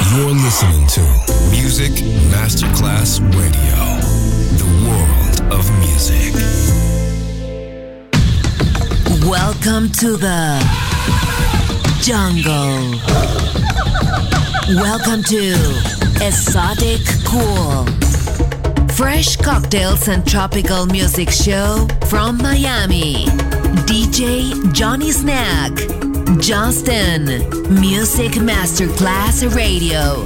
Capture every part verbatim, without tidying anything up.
You're listening to Music Masterclass Radio, the world of music. Welcome to the jungle. Welcome to Exotic Cool. Fresh cocktails and tropical music show from Miami. D J Johnny Snack. Justin. Music Masterclass Radio.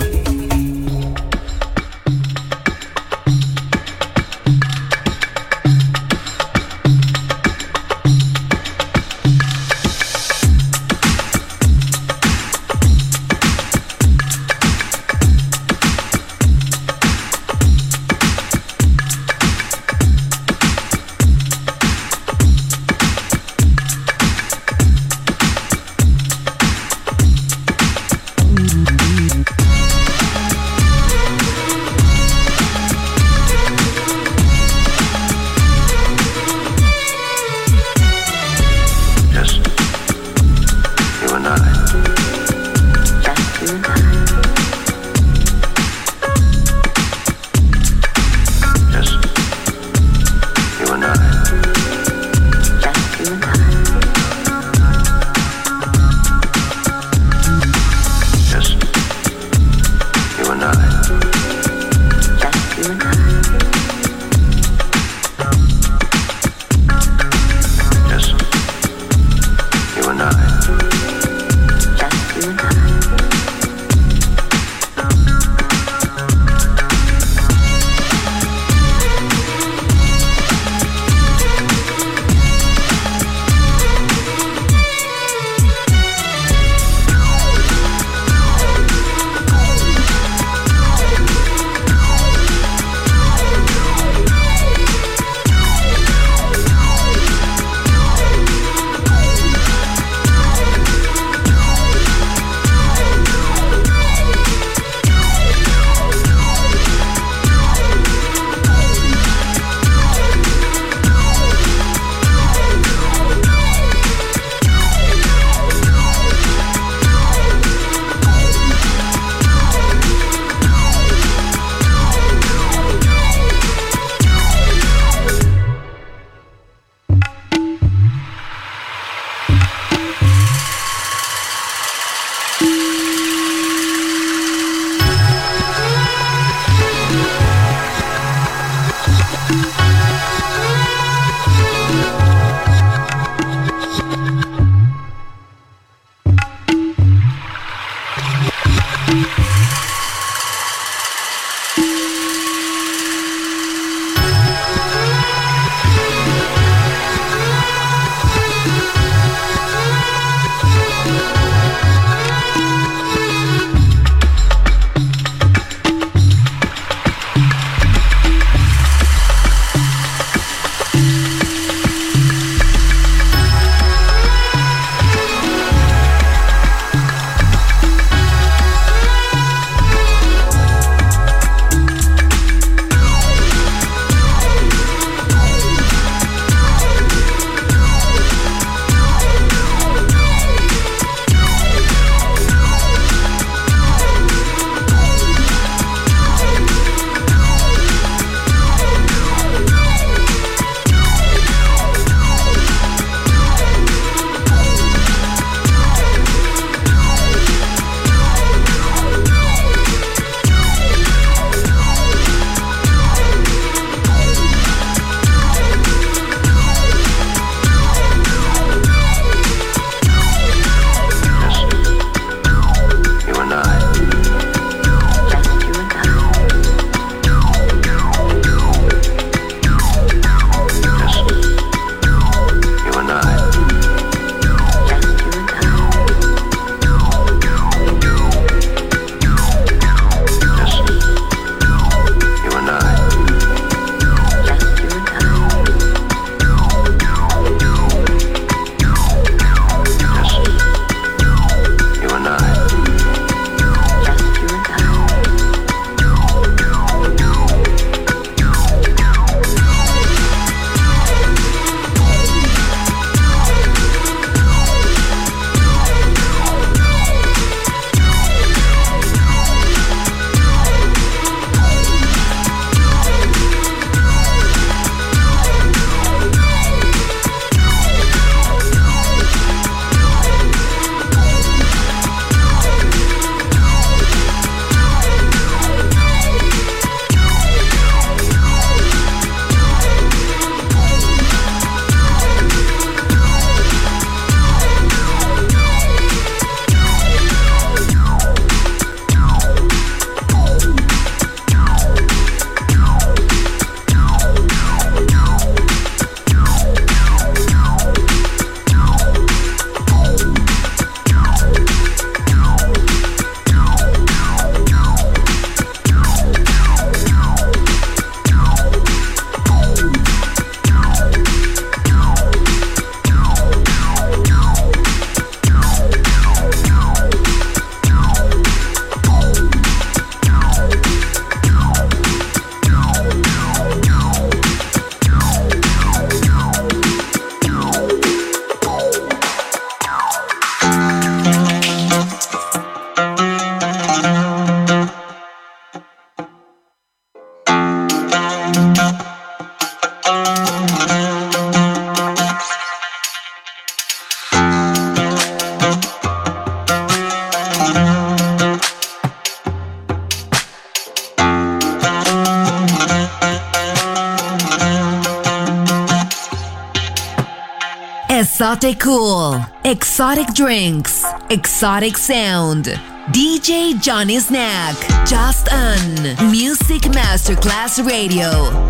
Exotic Cool, exotic drinks, exotic sound. D J Johnny Snack, just on Music Masterclass Radio.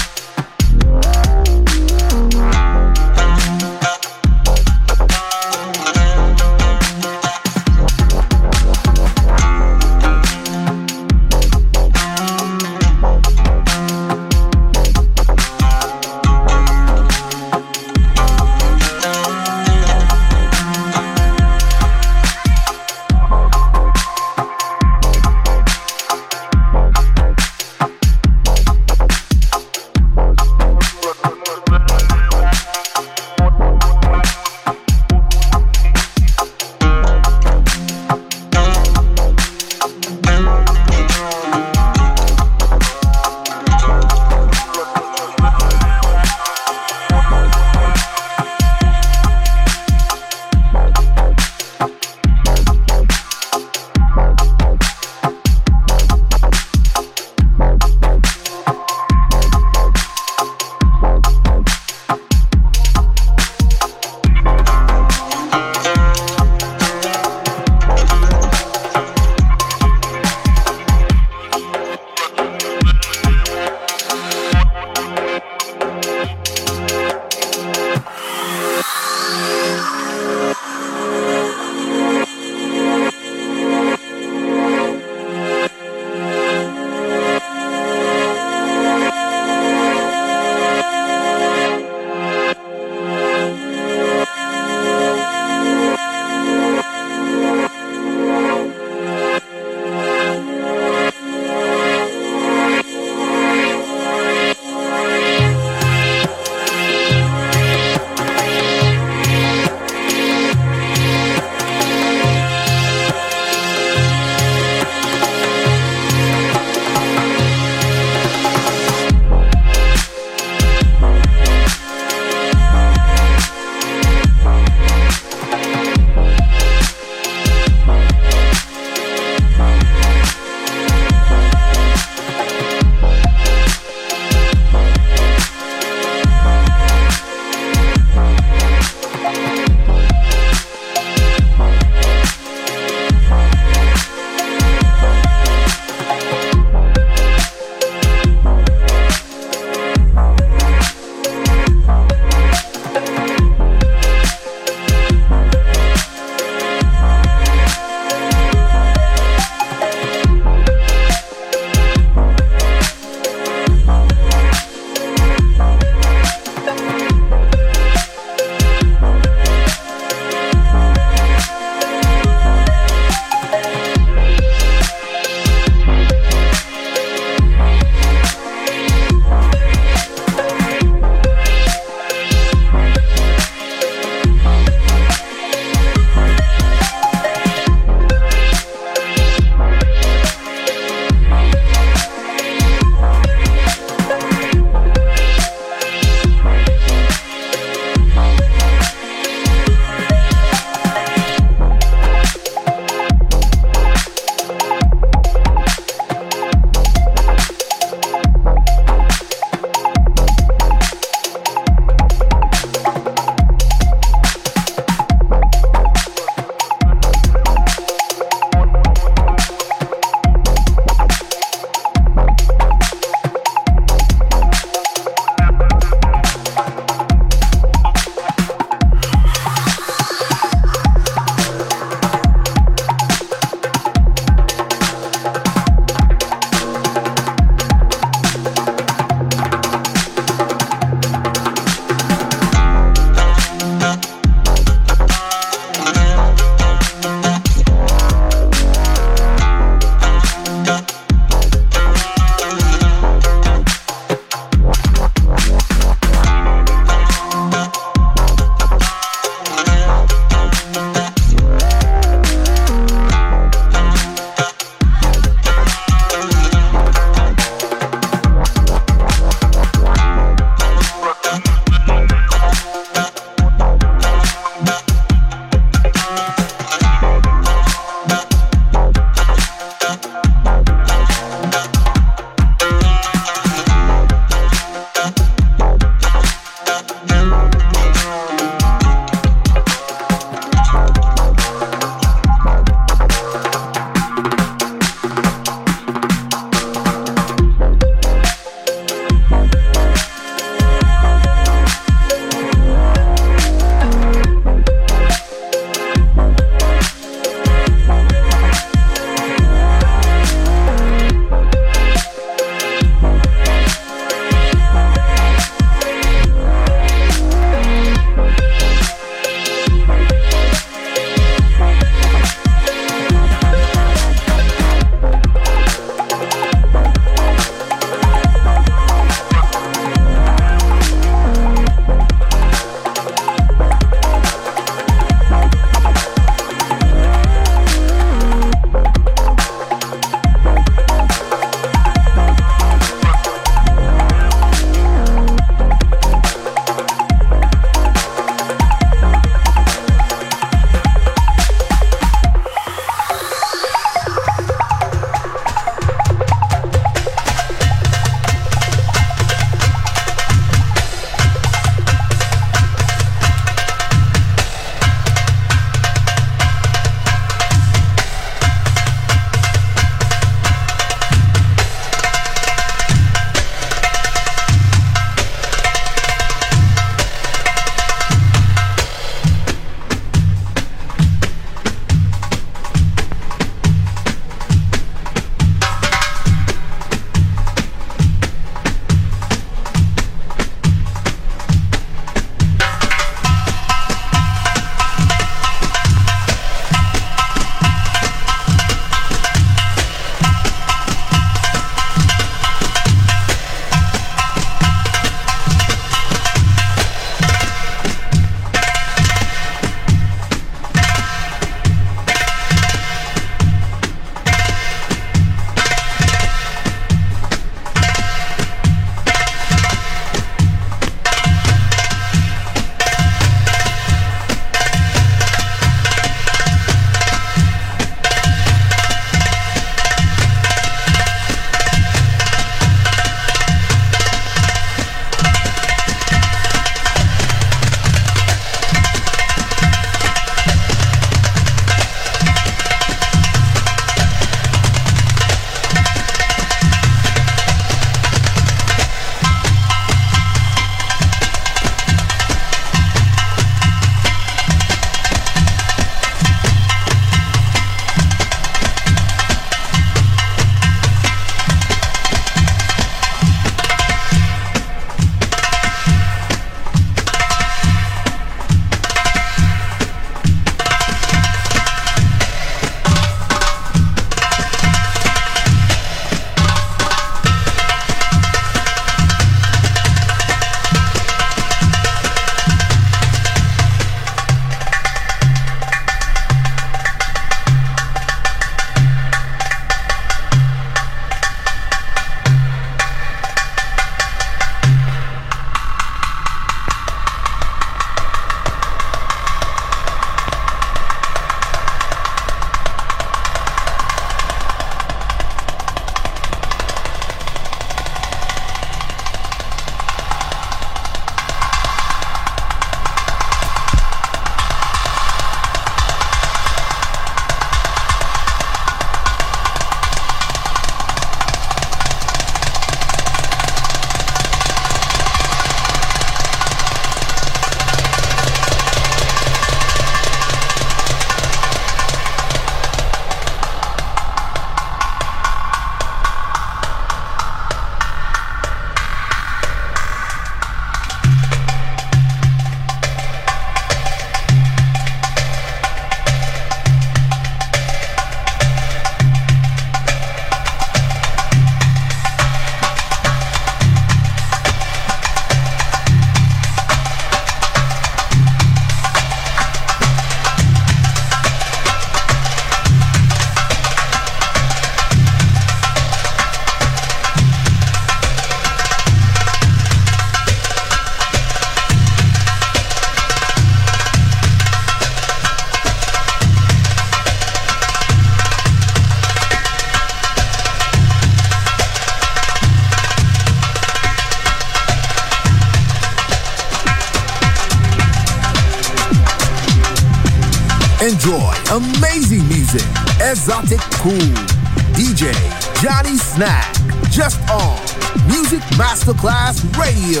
Enjoy amazing music. Exotic Cool. D J Johnny Snack. Just on Music Masterclass Radio.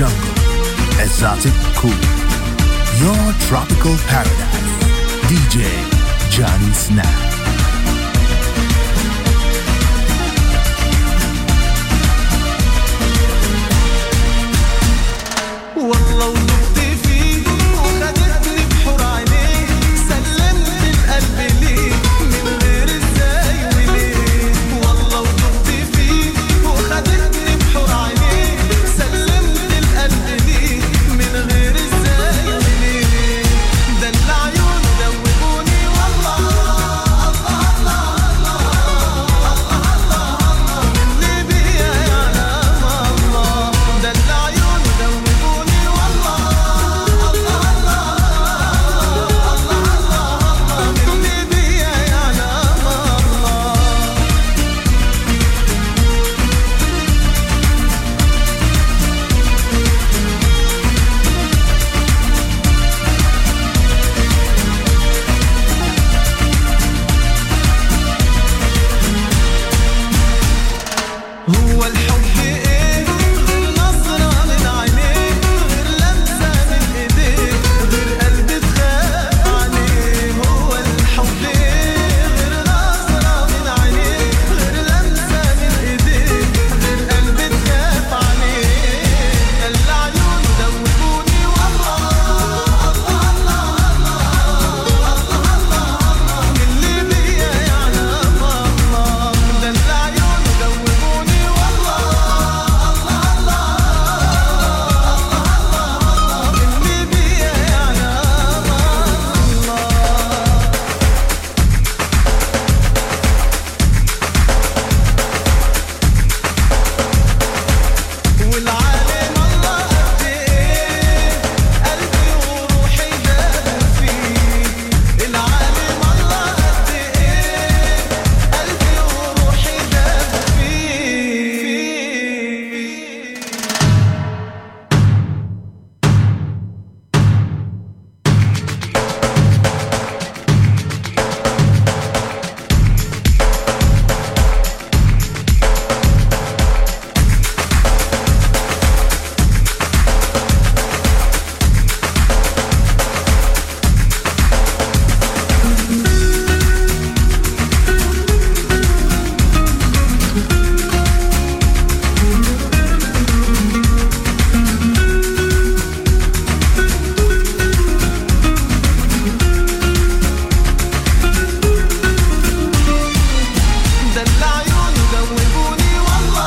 jungle, exotic cool. Your tropical paradise. D J Johnny Snack. والله ودقت فيه وخدتني بحور عينيه سلمت القلب ليه من غير ازاي وليه والله ودقت فيه وخدتني بحور عينيه سلمت القلب ليه من غير ازاي وليه ده اللي عيونه دوبوني والله الله الله الله الله من اللي بيا يعلم الله ده اللي عيونه دوبوني هو الحب ايه غير نظرة من عينيه غير لمسة من ايديه غير قلب تخاف عليه هو الحب ايه غير نظرة من عينيه غير لمسة من ايديه غير قلب تخاف عليه ده اللي عيونه دوبوني والله الله الله الله من اللي بيا يعلم الله ده اللي عيونه دوبوني والعالم الله قد ايه قلبي وروحي دابوا فيه العالم الله قد ايه قلبي وروحي دابوا فيه ده اللي عيونه دوبوني والله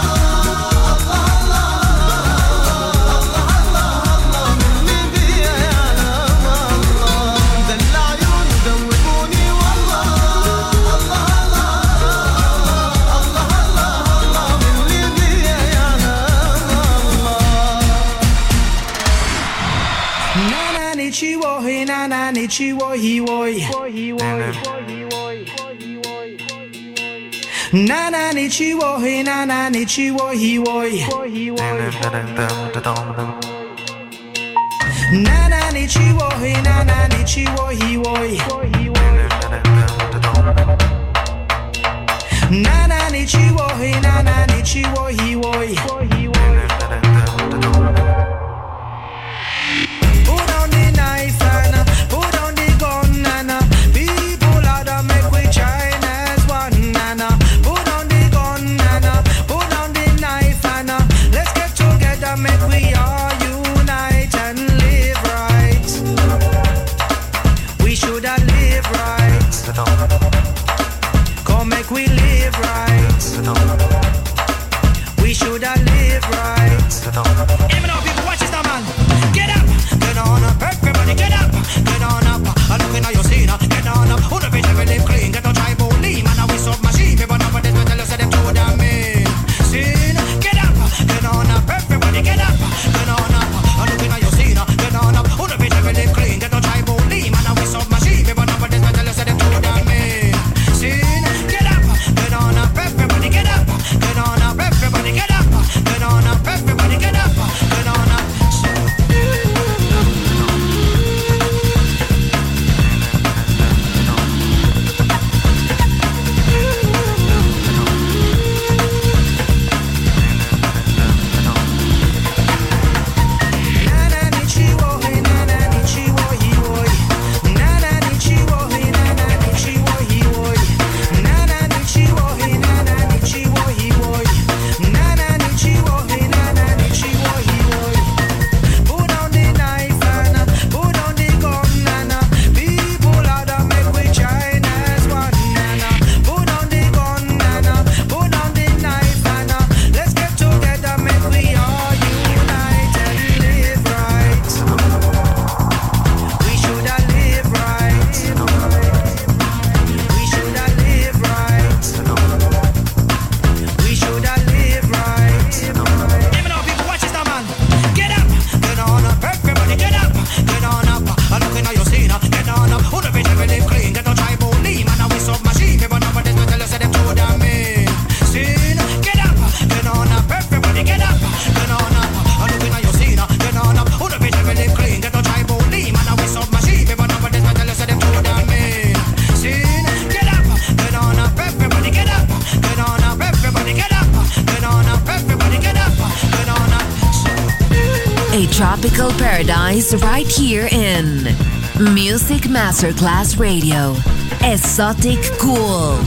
الله من اللي بيا يعلم الله ده اللي عيونه دوبوني والله الله من اللي بيا يعلم الله Nana nichiwo he nana nichiwo he woi Nana nichiwo he nana nichiwo he woi Nana nichiwo he nana nichiwo he woi Nana nichiwo he nana nichiwo he woi Put on the knife and put on the gun and people out of make we join as one and put on the gun and put on the knife and let's get together make we all unite and live right. We should have live right. Come make we live right. We should have live right. Even though people watch this now, man. Get up, get on up, everybody get up, get on up. I'm looking at your scene, get on up. Who the bitch ever live clean? Get no tribal lean, man. Now we sub machine, people know what this will tell us that them two damn mean. Scene, get up, get on up, everybody get up, get on up. I'm looking at your scene, get on up. Who the bitch ever live clean? Get no tribal lean, man. Now we sub machine, people know what this will tell us that them two damn mean. Scene, get up, get on up, everybody get up, get on up, everybody get up, get on up, everybody get up, get on up. tropical paradise right here in Music Masterclass Radio. Exotic Cool.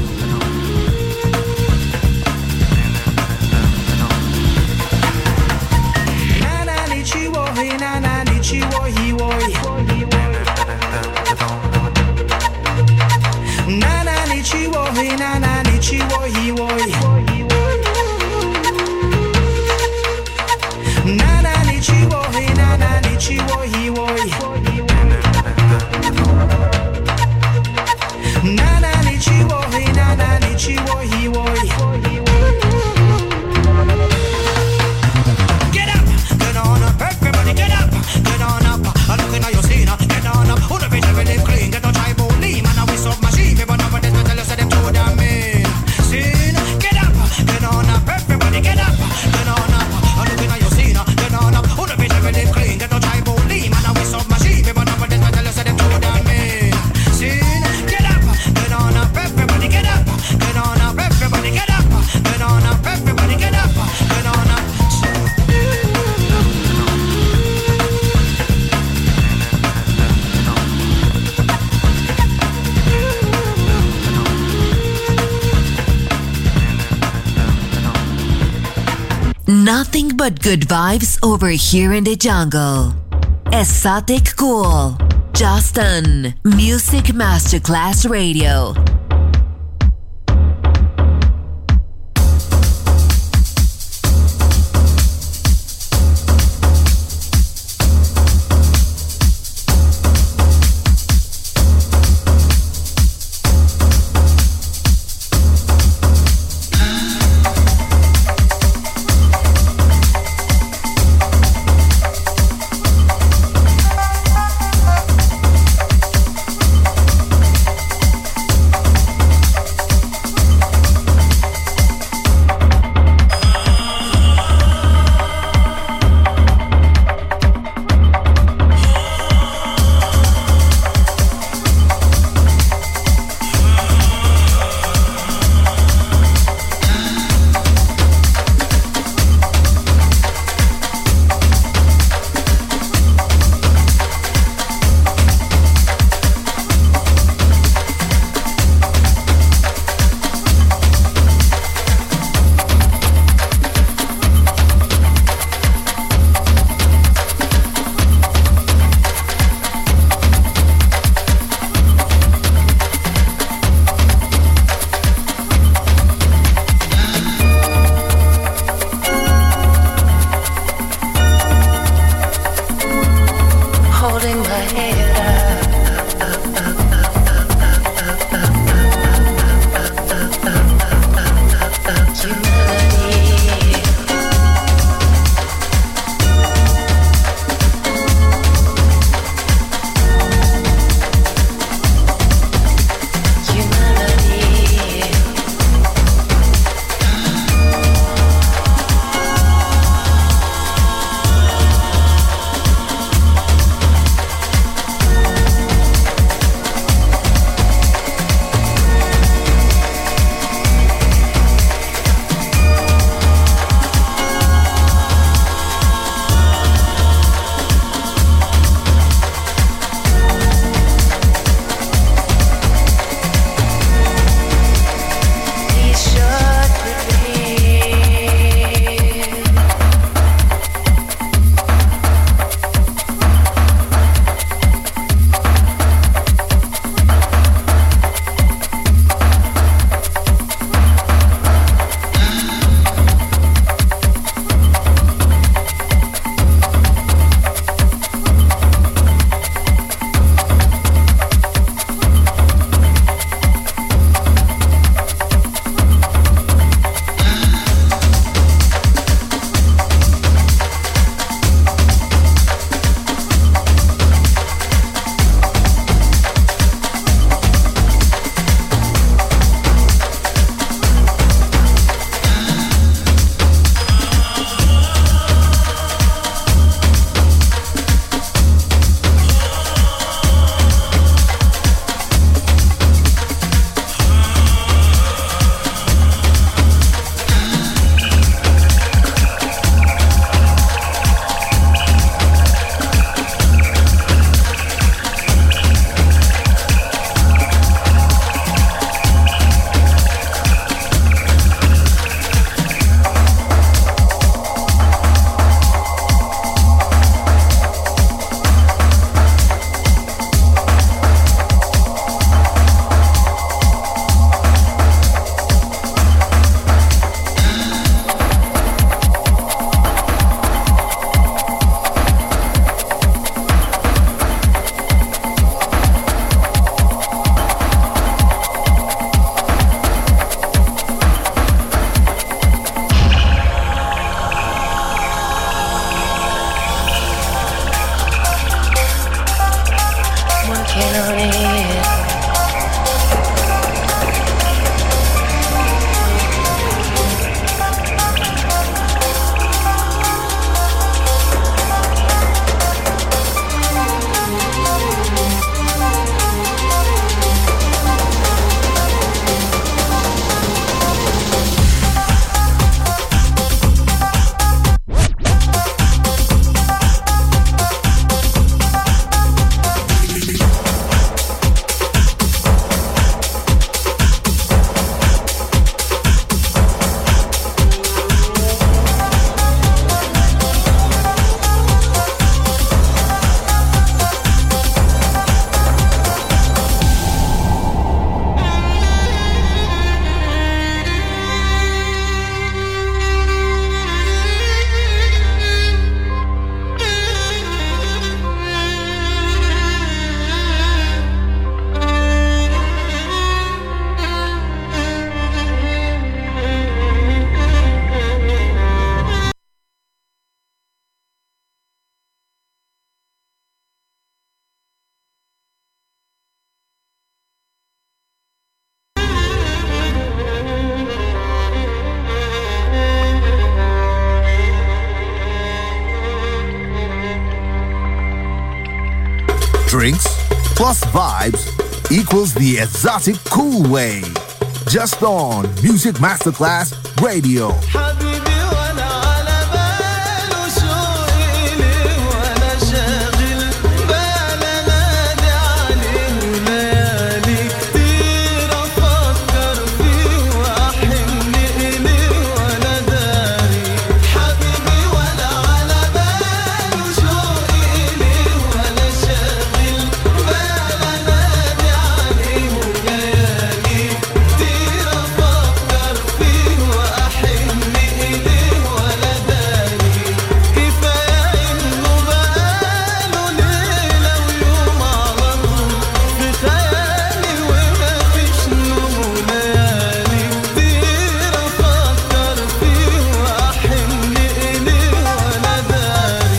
Nothing but good vibes over here in the jungle. Exotic Cool. Just on Music Masterclass Radio. Drinks plus vibes equals the exotic cool way. Just on Music Masterclass Radio. حبيبي وانا على باله شوقي ليه وانا شاغل بالا نادي عليه وليالي كتير افكر فيه واحن اليه وانا داري حبيبي وانا على باله شوقي ليه وانا شاغل بالا نادي عليه وليالي كتير افكر فيه واحن اليه وانا داري كفايه انه بقاله ليله ويوم على طول في خيالي وما فيش نوم ليالي كتير افكر فيه واحن اليه وانا داري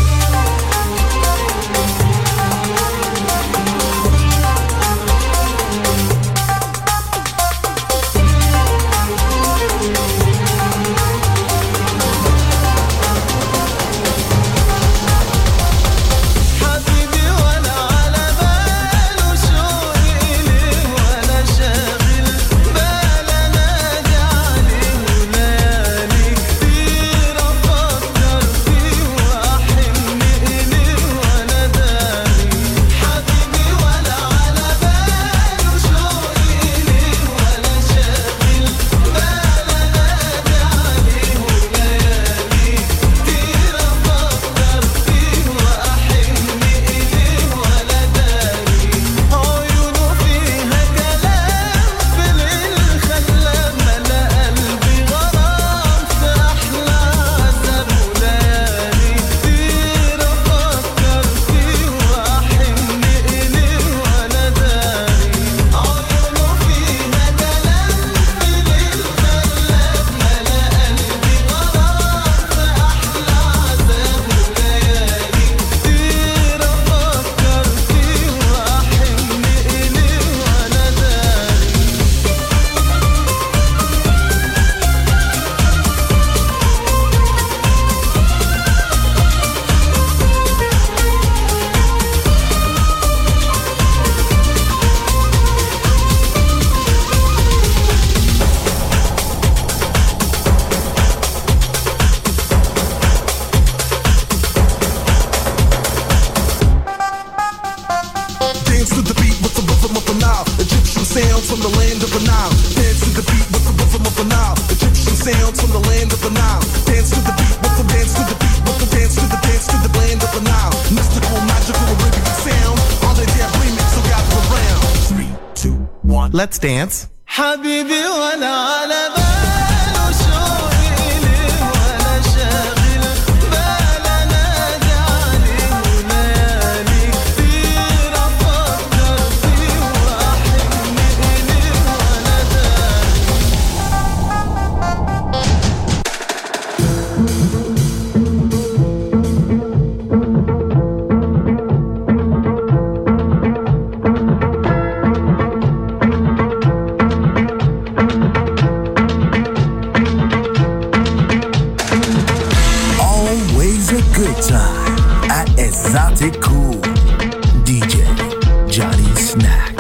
حبيبي وانا على باله شوقي ليه وانا شاغل بالا نادي عليه وليالي كتير افكر فيه واحن اليه وانا داري حبيبي وانا على باله شوقي ليه وانا شاغل بالا نادي عليه وليالي كتير افكر فيه واحن اليه وانا داري عيونه فيها كلام في الليل خلى ملا قلبي غرام في احلى عذاب وليالي كتير افكر فيه واحن اليه وانا داري عيونه فيها كلام في الليل خلى ملا قلبي غرام في احلى عذاب وليالي كتير افكر فيه واحن اليه وانا داري Dance to the beat with the rhythm of the Nile. Egyptian sounds from the land of the Nile. Dance to the beat with the rhythm of the Nile. Egyptian sounds from the land of the Nile. Dance to the beat with the dance to the beat with the dance to the dance to the land of the Nile. Mystical, magical, Arabian sound. All the damn remix so gather around. Three, two, one. Let's dance. حبيبي وانا على باله شوقي ليه وانا شاغل بالا نادي عليه وليالي كتير افكر فيه واحن اليه وانا داري Always a good time at Exotic Cool. D J Johnny Snack.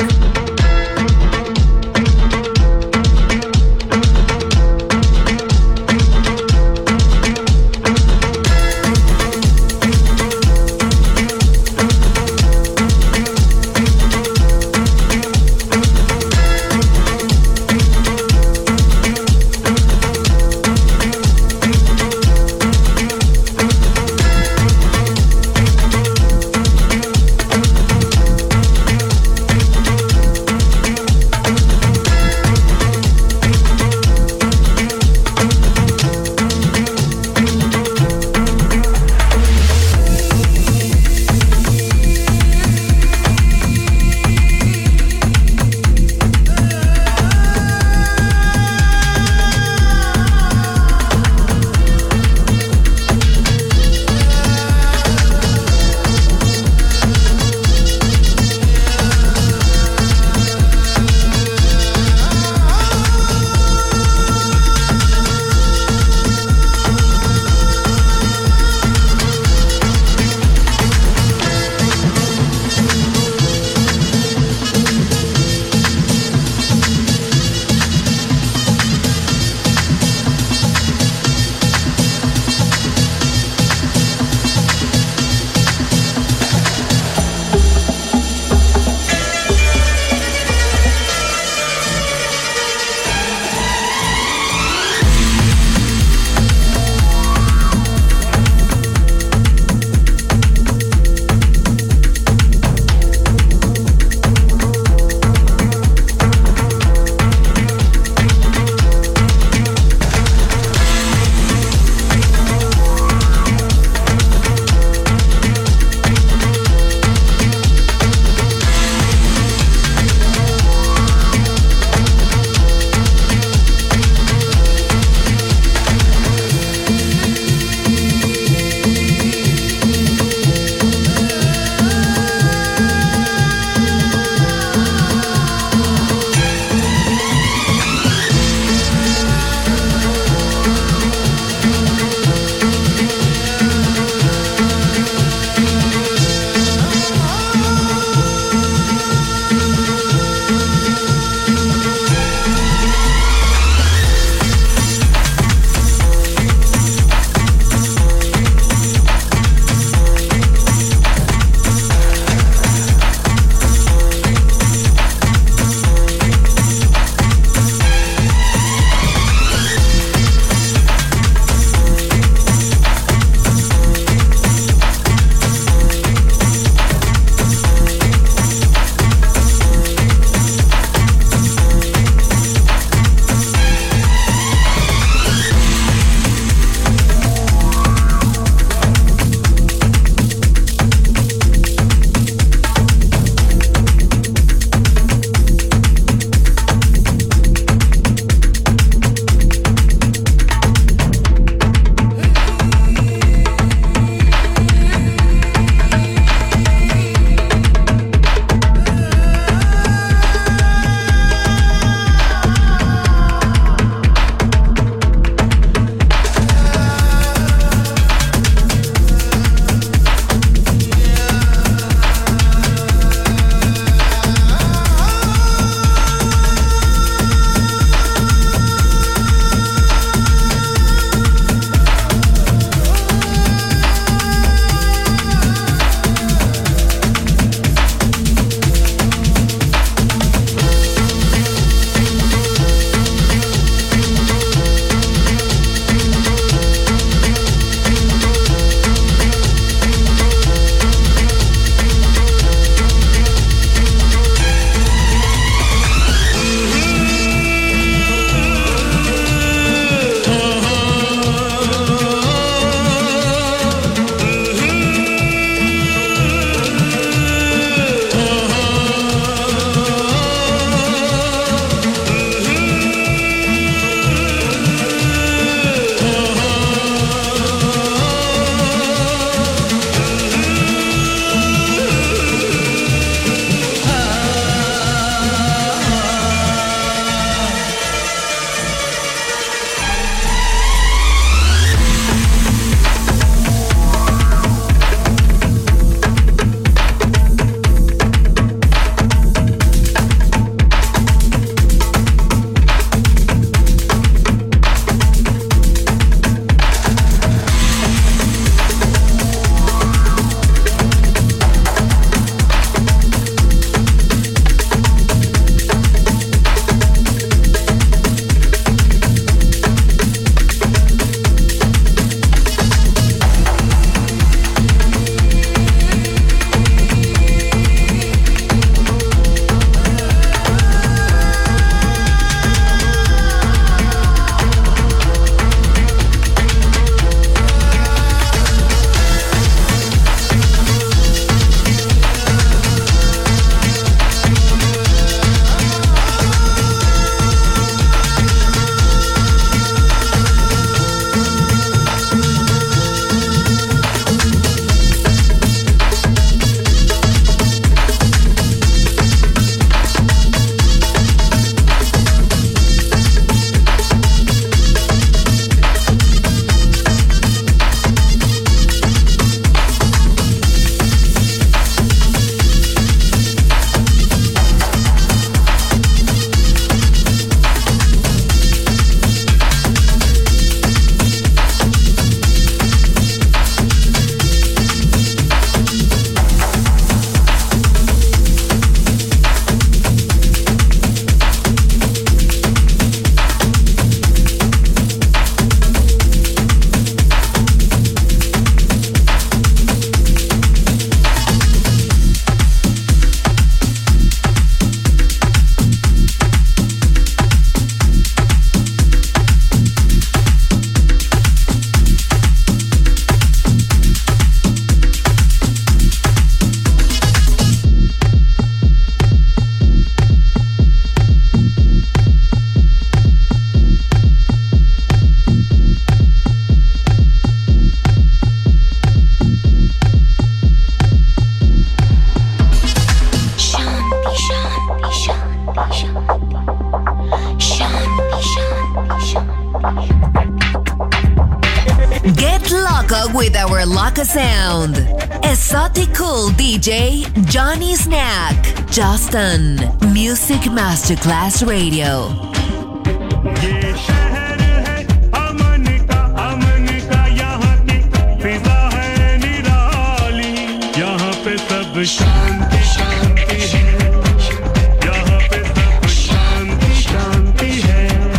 Get loco with our loco sound. Exotic Cool D J Johnny Snack. Justin Music Masterclass Radio. ये शहर है अमन का अमन का यहाँ की फिजा है निराली यहाँ पे सब शांति शांति है यहाँ पे सब शांति शांति है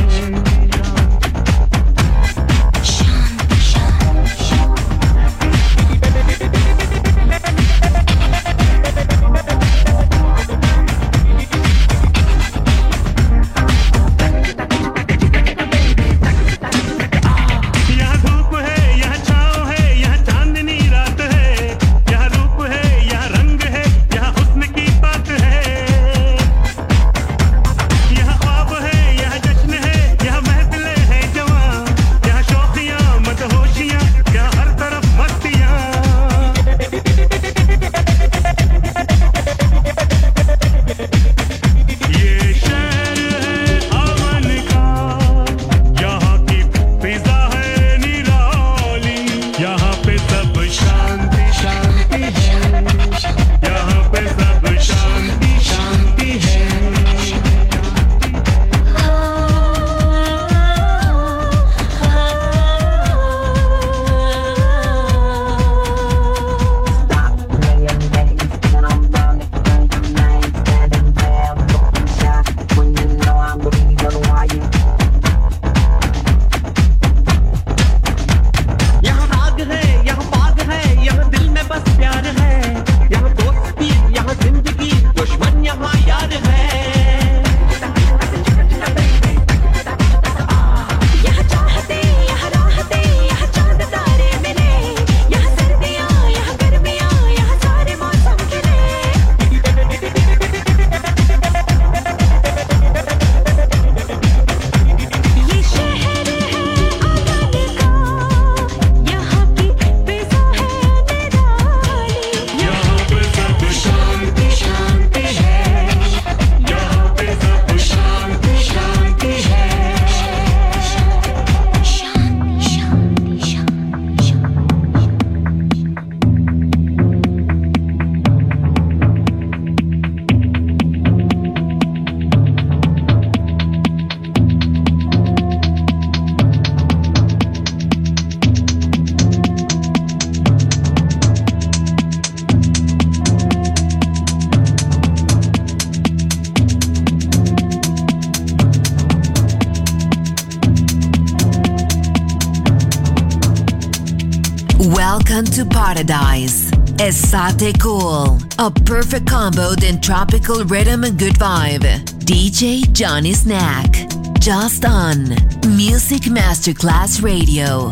Welcome to Paradise. Exotic Cool. A perfect combo in tropical rhythm and good vibe. D J Johnny Snack. Just on Music Masterclass Radio.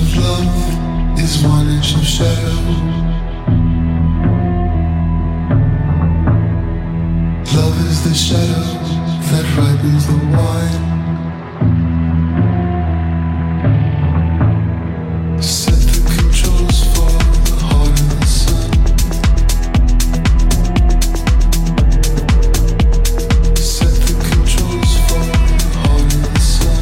of love is one inch of shadow. Love is the shadow that ripens the wine. Set the controls for the heart of the sun. Set the controls for the heart of the sun.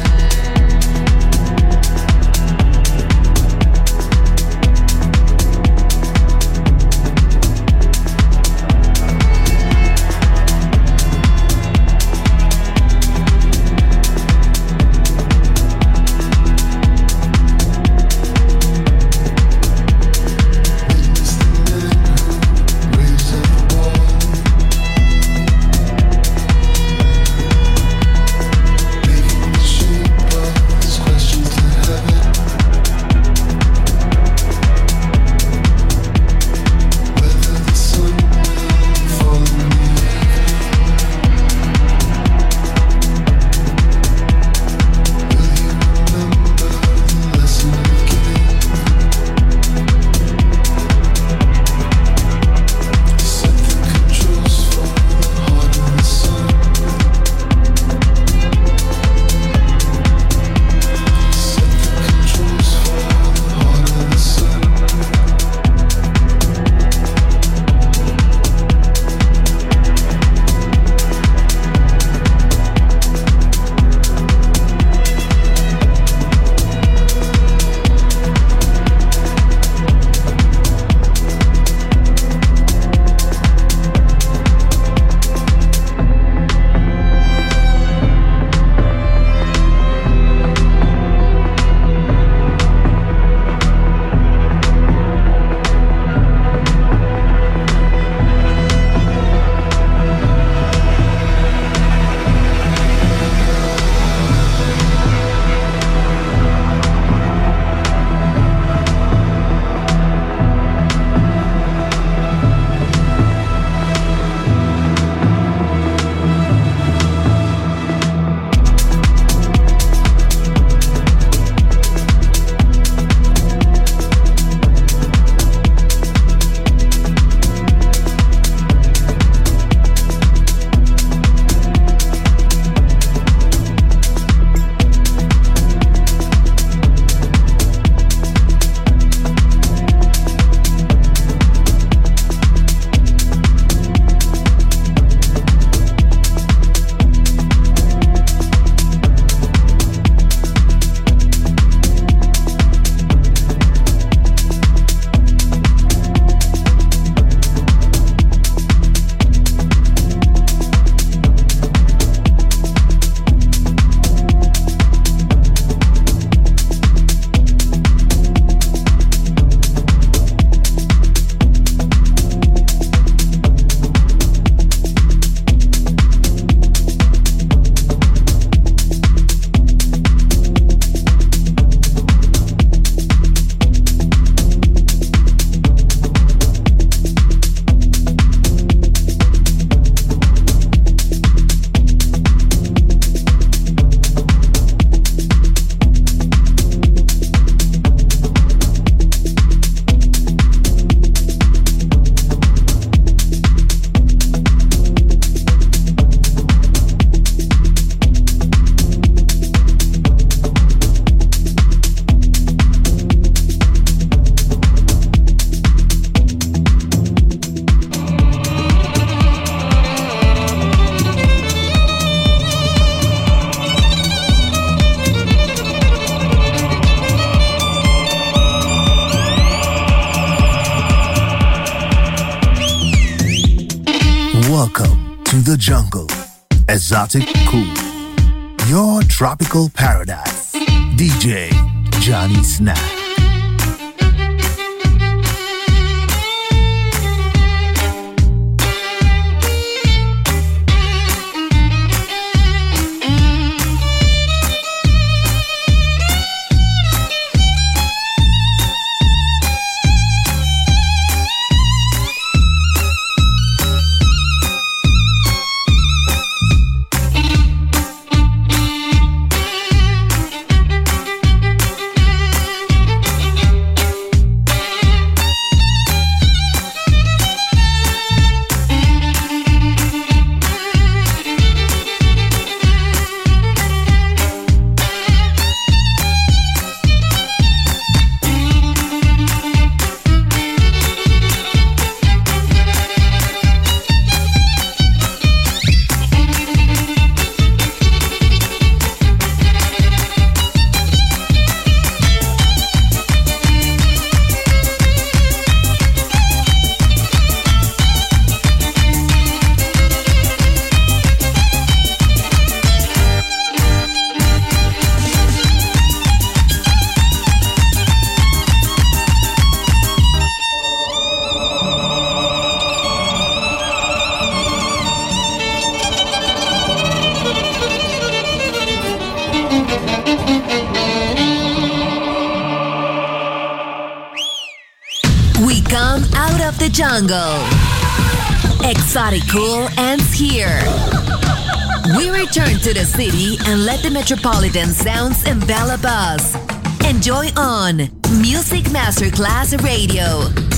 Welcome to the jungle, Exotic Cool, your tropical paradise. D J Johnny Snack. jungle. Exotic Cool ends here. We return to the city and let the metropolitan sounds envelop us. Enjoy on Music Masterclass Radio.